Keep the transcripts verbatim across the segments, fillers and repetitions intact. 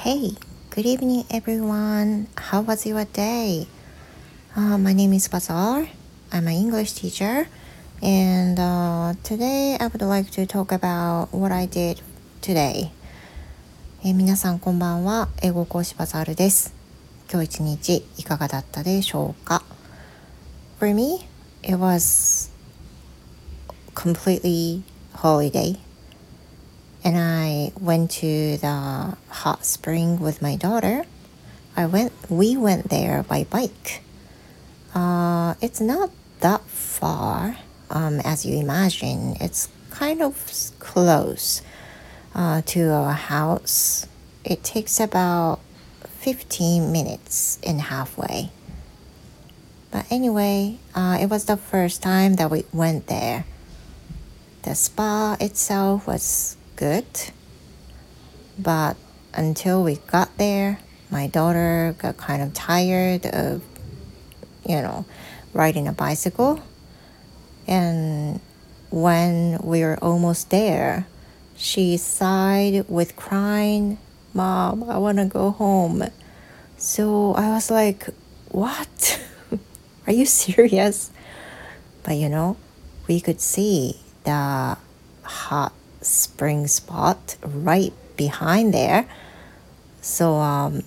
Hey, good evening everyone. How was your day? Uh, my name is Bazaar. I'm an English teacher and uh, today I would like to talk about what I did today. えー、皆さんこんばんは。英語講師バザールです。今日一日いかがだったでしょうか？ For me, it was completely holiday.And I went to the hot spring with my daughter. I went, we went there by bike. Uh, it's not that far, um, as you imagine. It's kind of close uh, to our house. It takes about fifteen minutes in halfway. But anyway, uh, it was the first time that we went there. The spa itself was good, but until we got there, my daughter got kind of tired of, you know, riding a bicycle. And when we were almost there, she sighed with crying, "Mom, I want to go home." So I was like, "What? Are you serious?" But you know, we could see the hot spring spot right behind there. So, um,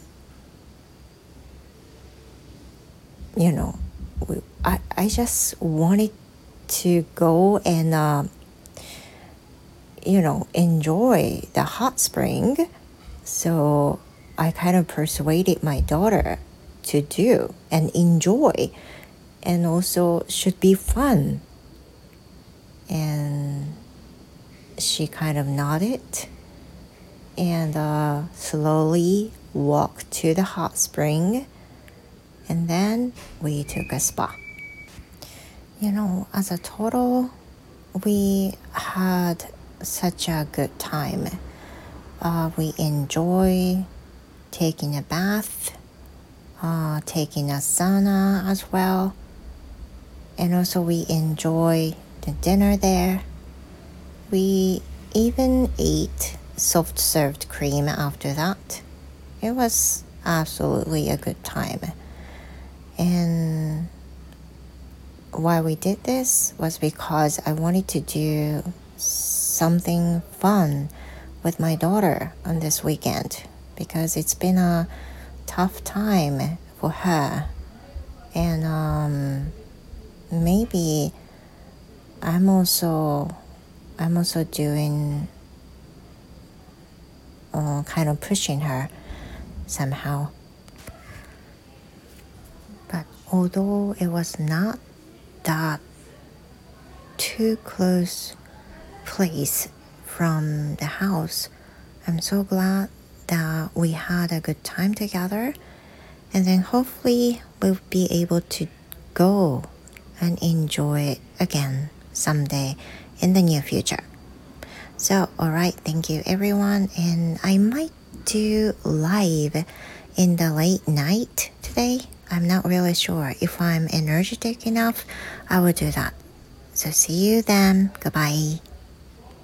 you know, we, I, I just wanted to go and, uh, you know, enjoy the hot spring. So I kind of persuaded my daughter to do and enjoy and also should be fun. And she kind of nodded and uh, slowly walked to the hot spring, and then we took a spa. You know, as a total, we had such a good time. Uh, we enjoy taking a bath, uh, taking a sauna as well, and also we enjoy the dinner there.We even ate soft-served cream after that. It was absolutely a good time. And why we did this was because I wanted to do something fun with my daughter on this weekend because it's been a tough time for her. And um, maybe I'm also...I'm also doing, uh, kind of pushing her somehow. But although it was not that too close place from the house, I'm so glad that we had a good time together. And then hopefully we'll be able to go and enjoy it again someday.In the near future. So, alright, thank you everyone. And I might do live in the late night today. I'm not really sure. If I'm energetic enough, I will do that. So see you then. Goodbye.